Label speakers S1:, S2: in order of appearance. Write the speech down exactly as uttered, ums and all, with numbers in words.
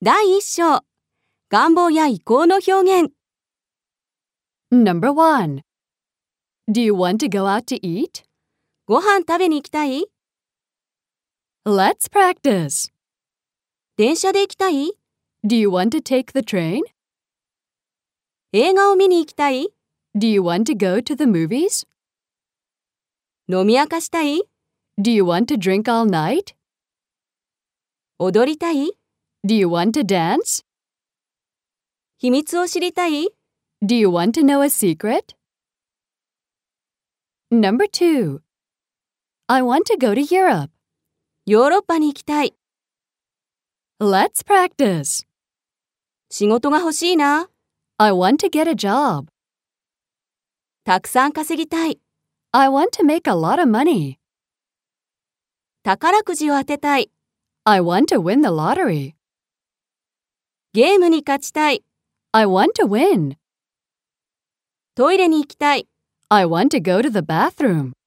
S1: だいいっ章、願望や意向の表現。
S2: Number one. Do you want to go out to eat?
S1: ご飯食べに行きたい？
S2: Let's practice.
S1: 電車で行きたい？
S2: Do you want to take the train?
S1: 映画を見に行きたい？
S2: Do you want to go to the movies?
S1: 飲み明かしたい？
S2: Do you want to drink all night?
S1: 踊りたい？
S2: Do you want to dance?
S1: 秘密を知りたい？
S2: Do you want to know a secret? Number two. I want to go to Europe.
S1: ヨーロッパに行きたい。
S2: Let's practice.
S1: 仕事が欲しいな。
S2: I want to get a job.
S1: たくさん稼ぎたい。
S2: I want to make a lot of money.
S1: 宝くじを当てたい。
S2: I want to win the lottery.
S1: ゲームに勝ちたい。
S2: I want to win.
S1: トイレに行きたい。
S2: I want to go to the bathroom.